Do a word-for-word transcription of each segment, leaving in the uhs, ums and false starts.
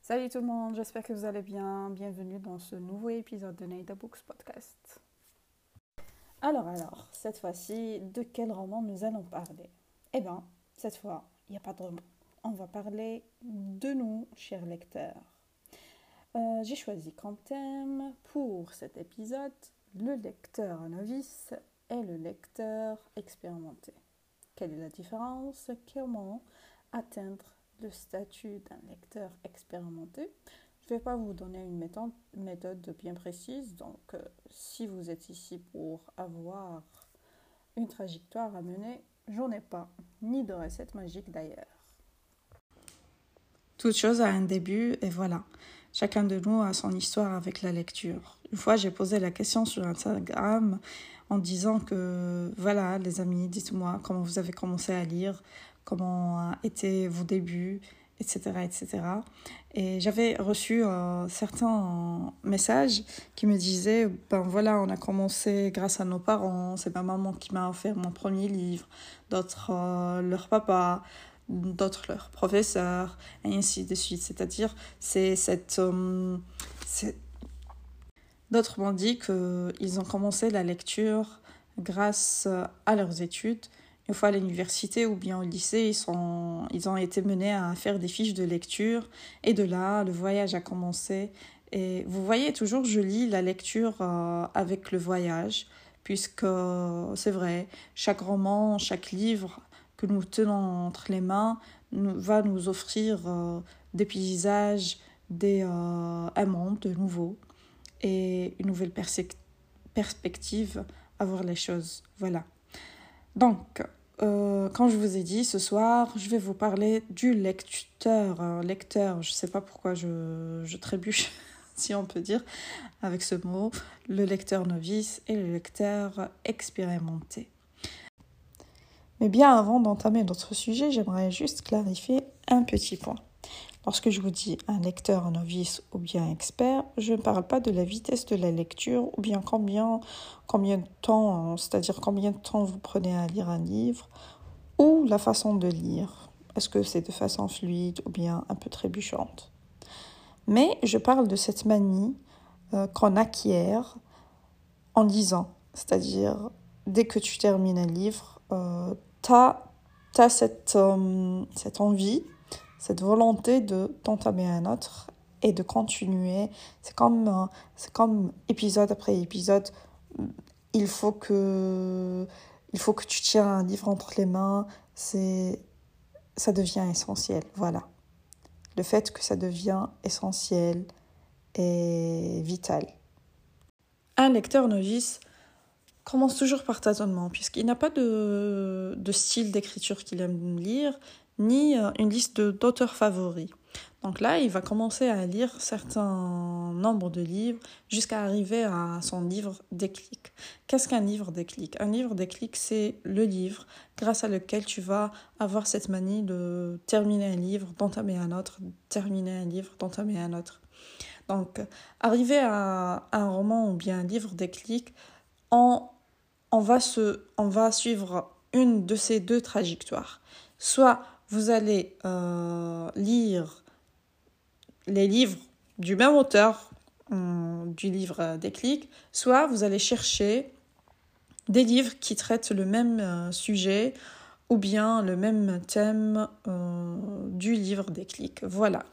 Salut tout le monde, j'espère que vous allez bien. Bienvenue dans ce nouveau épisode de Nada Books Podcast. Alors, alors, cette fois-ci, de quel roman nous allons parler? Eh bien, cette fois, il n'y a pas de roman. On va parler de nous, chers lecteurs. Euh, j'ai choisi comme thème pour cet épisode le lecteur novice et le lecteur expérimenté. Quelle est la différence? Comment atteindre le statut d'un lecteur expérimenté? Je ne vais pas vous donner une méthode, méthode bien précise, donc euh, si vous êtes ici pour avoir une trajectoire à mener, j'en ai pas, ni de recette magique d'ailleurs. Toute chose a un début et voilà. Chacun de nous a son histoire avec la lecture. Une fois, j'ai posé la question sur Instagram en disant que, voilà, les amis, dites-moi comment vous avez commencé à lire, comment étaient vos débuts, et cetera, et cetera. Et j'avais reçu euh, certains messages qui me disaient, ben voilà, on a commencé grâce à nos parents, c'est ma maman qui m'a offert mon premier livre, d'autres, euh, leur papa, d'autres leurs professeurs, et ainsi de suite. C'est-à-dire, c'est cette... Euh, c'est... D'autres m'ont dit qu'ils ont commencé la lecture grâce à leurs études. Une fois à l'université ou bien au lycée, ils, sont, ils ont été menés à faire des fiches de lecture. Et de là, le voyage a commencé. Et vous voyez, toujours, je lis la lecture euh, avec le voyage, puisque c'est vrai, chaque roman, chaque livre que nous tenons entre les mains nous, va nous offrir euh, des paysages, des, euh, un monde de nouveau et une nouvelle perse- perspective à voir les choses. Voilà. Donc, euh, quand je vous ai dit ce soir, je vais vous parler du lecteur. Euh, lecteur, je ne sais pas pourquoi je, je trébuche, si on peut dire, avec ce mot, le lecteur novice et le lecteur expérimenté. Mais bien avant d'entamer notre sujet, j'aimerais juste clarifier un petit point. Lorsque je vous dis un lecteur novice ou bien expert, je ne parle pas de la vitesse de la lecture ou bien combien, combien de temps, c'est-à-dire combien de temps vous prenez à lire un livre ou la façon de lire. Est-ce que c'est de façon fluide ou bien un peu trébuchante? Mais je parle de cette manie euh, qu'on acquiert en lisant, c'est-à-dire dès que tu termines un livre, euh, tu as cette, euh, cette envie, cette volonté de t'entamer un autre et de continuer. C'est comme, euh, c'est comme épisode après épisode. Il faut que, il faut que tu tiens un livre entre les mains. C'est, ça devient essentiel. Voilà. Le fait que ça devient essentiel est vital. Un lecteur novice commence toujours par tâtonnement, puisqu'il n'a pas de, de style d'écriture qu'il aime lire, ni une liste de, d'auteurs favoris. Donc là, il va commencer à lire certains nombres de livres jusqu'à arriver à son livre déclic. Qu'est-ce qu'un livre déclic? Un livre déclic, c'est le livre grâce à lequel tu vas avoir cette manie de terminer un livre, d'entamer un autre, terminer un livre, d'entamer un autre. Donc, arriver à un roman ou bien un livre déclic, on, on, va se, on va suivre une de ces deux trajectoires. Soit vous allez euh, lire les livres du même auteur, euh, du livre déclic, soit vous allez chercher des livres qui traitent le même euh, sujet ou bien le même thème euh, du livre déclic. Voilà.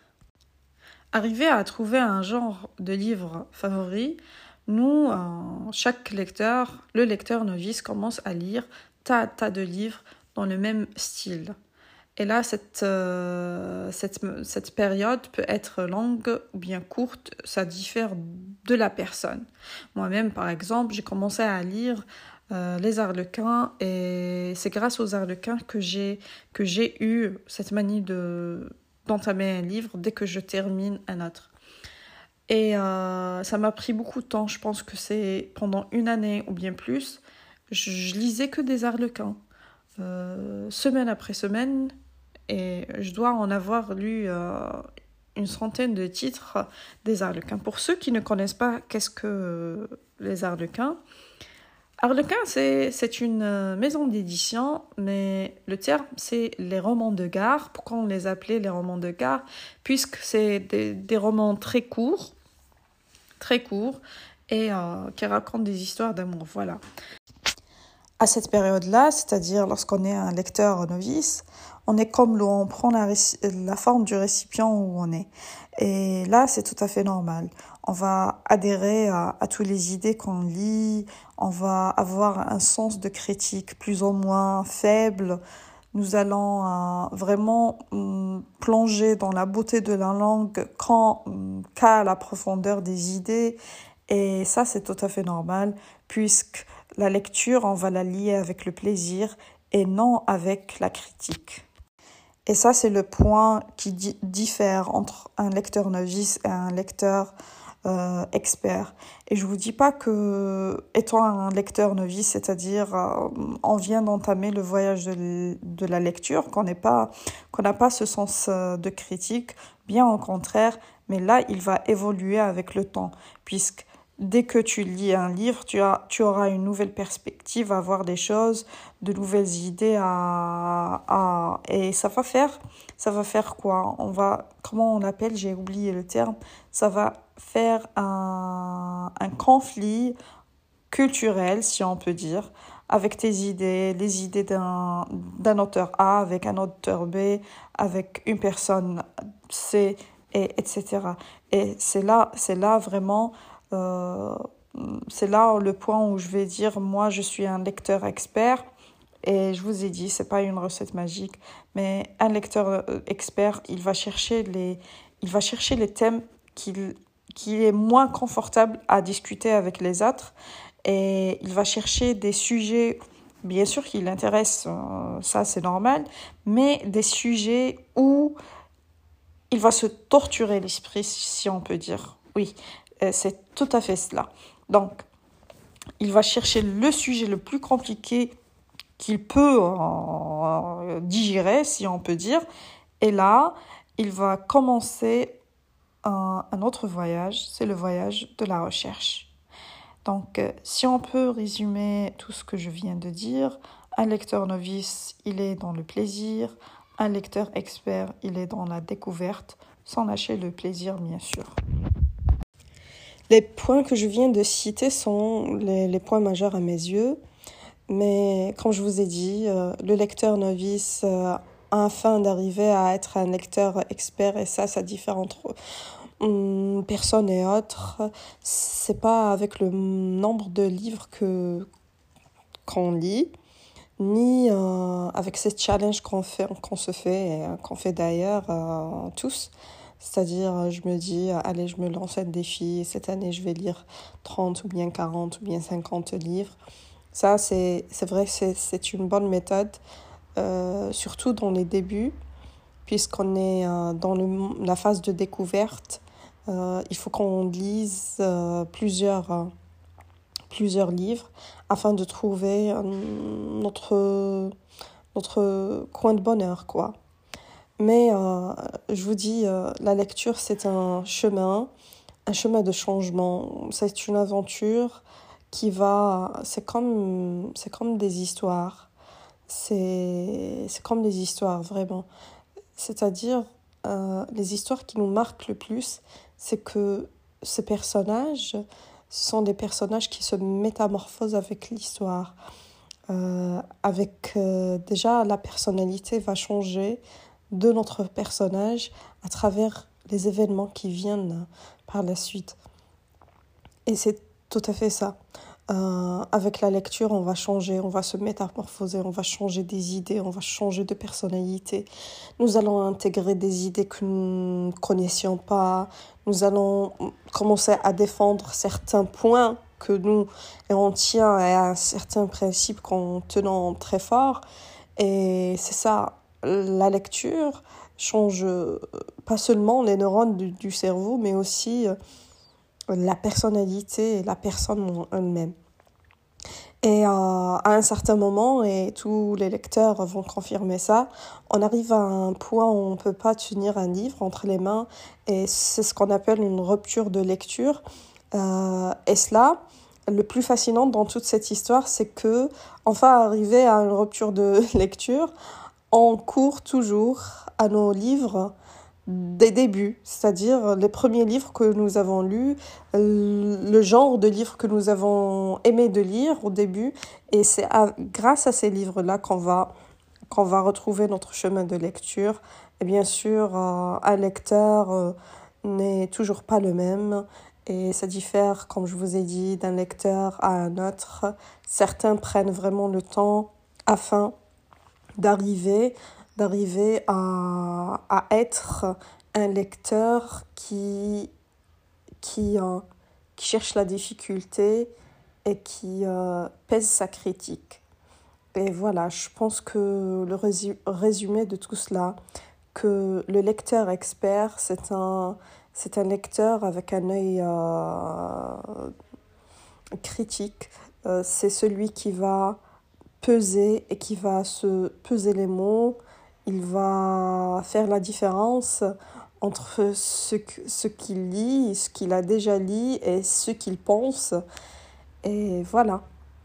Arriver à trouver un genre de livre favori, nous, euh, chaque lecteur, le lecteur novice commence à lire tas, tas de livres dans le même style. Et là, cette, euh, cette, cette période peut être longue ou bien courte, ça diffère de la personne. Moi-même, par exemple, j'ai commencé à lire euh, les Arlequins et c'est grâce aux Arlequins que j'ai, que j'ai eu cette manie de, d'entamer un livre dès que je termine un autre. Et euh, ça m'a pris beaucoup de temps, je pense que c'est pendant une année ou bien plus, je, je lisais que des Arlequins, euh, semaine après semaine, et je dois en avoir lu euh, une centaine de titres des Arlequins. Pour ceux qui ne connaissent pas qu'est-ce que les Arlequins, Harlequin, c'est, c'est une euh, maison d'édition, mais le terme, c'est les romans de gare. Pourquoi on les appelait les romans de gare? Puisque c'est des, des romans très courts, très courts, et euh, qui racontent des histoires d'amour, voilà. À cette période-là, c'est-à-dire lorsqu'on est un lecteur novice, on est comme l'eau, on prend la, réci- la forme du récipient où on est. Et là, c'est tout à fait normal. On va adhérer à, à toutes les idées qu'on lit, on va avoir un sens de critique plus ou moins faible. Nous allons euh, vraiment hum, plonger dans la beauté de la langue quand, hum, qu'à la profondeur des idées. Et ça, c'est tout à fait normal, puisque la lecture, on va la lier avec le plaisir et non avec la critique. Et ça, c'est le point qui di- diffère entre un lecteur novice et un lecteur euh, expert. Et je vous dis pas que, étant un lecteur novice, c'est-à-dire euh, on vient d'entamer le voyage de, l- de la lecture, qu'on n'est pas, qu'on n'a pas ce sens euh, de critique, bien au contraire, mais là, il va évoluer avec le temps, puisque dès que tu lis un livre, tu as, tu auras une nouvelle perspective à voir des choses, de nouvelles idées à, à et ça va faire ça va faire quoi? On va comment on appelle, j'ai oublié le terme, ça va faire un un conflit culturel, si on peut dire, avec tes idées, les idées d'un d'un auteur A avec un auteur B, avec une personne C, et etc. Et c'est là c'est là vraiment euh, c'est là le point où je vais dire moi je suis un lecteur expert. Et je vous ai dit, c'est pas une recette magique, mais un lecteur euh, expert, il va chercher les, il va chercher les thèmes qu'il, qu'il est moins confortable à discuter avec les autres, et il va chercher des sujets, bien sûr, qui l'intéressent, euh, ça c'est normal, mais des sujets où il va se torturer l'esprit, si on peut dire. Oui, euh, c'est tout à fait cela. Donc, il va chercher le sujet le plus compliqué qu'il peut euh, digérer, si on peut dire. Et là, il va commencer un, un autre voyage, c'est le voyage de la recherche. Donc, euh, si on peut résumer tout ce que je viens de dire, un lecteur novice, il est dans le plaisir, un lecteur expert, il est dans la découverte, sans lâcher le plaisir, bien sûr. Les points que je viens de citer sont les, les points majeurs à mes yeux. Mais comme je vous ai dit, euh, le lecteur novice, euh, afin d'arriver à être un lecteur expert, et ça, ça diffère entre hum, personnes et autres, c'est pas avec le nombre de livres que qu'on lit, ni euh, avec ces challenges qu'on fait, qu'on se fait, et euh, qu'on fait d'ailleurs euh, tous. C'est-à-dire, je me dis, allez, je me lance un défi, cette année, je vais lire trente ou bien quarante ou bien cinquante livres. Ça, c'est, c'est vrai que c'est, c'est une bonne méthode, euh, surtout dans les débuts, puisqu'on est euh, dans le, la phase de découverte. Euh, il faut qu'on lise euh, plusieurs, euh, plusieurs livres afin de trouver euh, notre, notre coin de bonheur, quoi. Mais euh, je vous dis, euh, la lecture, c'est un chemin, un chemin de changement. C'est une aventure qui va... C'est comme, c'est comme des histoires. C'est, c'est comme des histoires, vraiment. C'est-à-dire, euh, les histoires qui nous marquent le plus, c'est que ces personnages sont des personnages qui se métamorphosent avec l'histoire. Euh, avec euh, déjà, la personnalité va changer de notre personnage à travers les événements qui viennent par la suite. Et c'est tout à fait ça. Euh, avec la lecture, on va changer, on va se métamorphoser, on va changer des idées, on va changer de personnalité. Nous allons intégrer des idées que nous ne connaissions pas. Nous allons commencer à défendre certains points que nous, et on tient à certains principes qu'on tenons très fort. Et c'est ça, la lecture change pas seulement les neurones du, du cerveau, mais aussi la personnalité et la personne en elle-même. Et euh, à un certain moment, et tous les lecteurs vont confirmer ça, on arrive à un point où on ne peut pas tenir un livre entre les mains, et c'est ce qu'on appelle une rupture de lecture. Euh, et cela, le plus fascinant dans toute cette histoire, c'est que, enfin, arrivé à une rupture de lecture, on court toujours à nos livres des débuts, c'est-à-dire les premiers livres que nous avons lus, le genre de livres que nous avons aimé de lire au début. Et c'est à, grâce à ces livres-là qu'on va, qu'on va retrouver notre chemin de lecture. Et bien sûr, euh, un lecteur euh, n'est toujours pas le même. Et ça diffère, comme je vous ai dit, d'un lecteur à un autre. Certains prennent vraiment le temps afin d'arriver, d'arriver à, à être un lecteur qui, qui, euh, qui cherche la difficulté et qui euh, pèse sa critique. Et voilà, je pense que le résu- résumé de tout cela, que le lecteur expert, c'est un, c'est un lecteur avec un œil euh, critique. Euh, c'est celui qui va peser et qui va se peser les mots. Il va faire la différence entre ce, que, ce qu'il lit, ce qu'il a déjà lu et ce qu'il pense. Et voilà.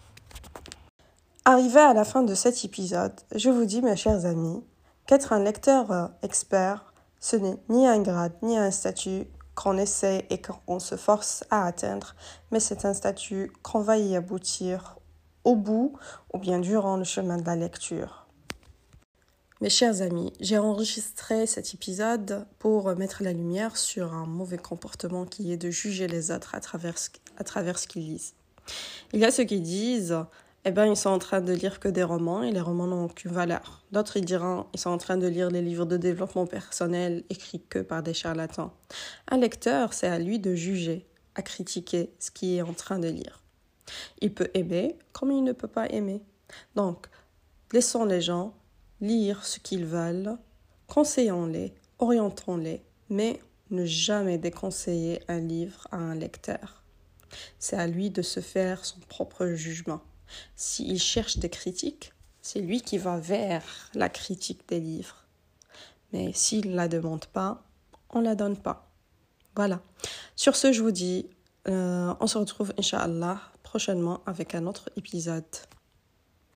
Arrivé à la fin de cet épisode, je vous dis, mes chers amis, qu'être un lecteur euh, expert, ce n'est ni un grade ni un statut qu'on essaie et qu'on se force à atteindre, mais c'est un statut qu'on va y aboutir au bout ou bien durant le chemin de la lecture. Mes chers amis, j'ai enregistré cet épisode pour mettre la lumière sur un mauvais comportement qui est de juger les autres à travers ce, à travers ce qu'ils lisent. Il y a ceux qui disent eh ben, ils sont en train de lire que des romans et les romans n'ont aucune valeur. D'autres, ils diront ils sont en train de lire les livres de développement personnel écrits que par des charlatans. Un lecteur, c'est à lui de juger, à critiquer ce qu'il est en train de lire. Il peut aimer comme il ne peut pas aimer. Donc, laissons les gens lire ce qu'ils veulent, conseillons-les, orientons-les, mais ne jamais déconseiller un livre à un lecteur. C'est à lui de se faire son propre jugement. S'il cherche des critiques, c'est lui qui va vers la critique des livres. Mais s'il ne la demande pas, on ne la donne pas. Voilà. Sur ce, je vous dis, euh, on se retrouve, Inch'Allah, prochainement avec un autre épisode.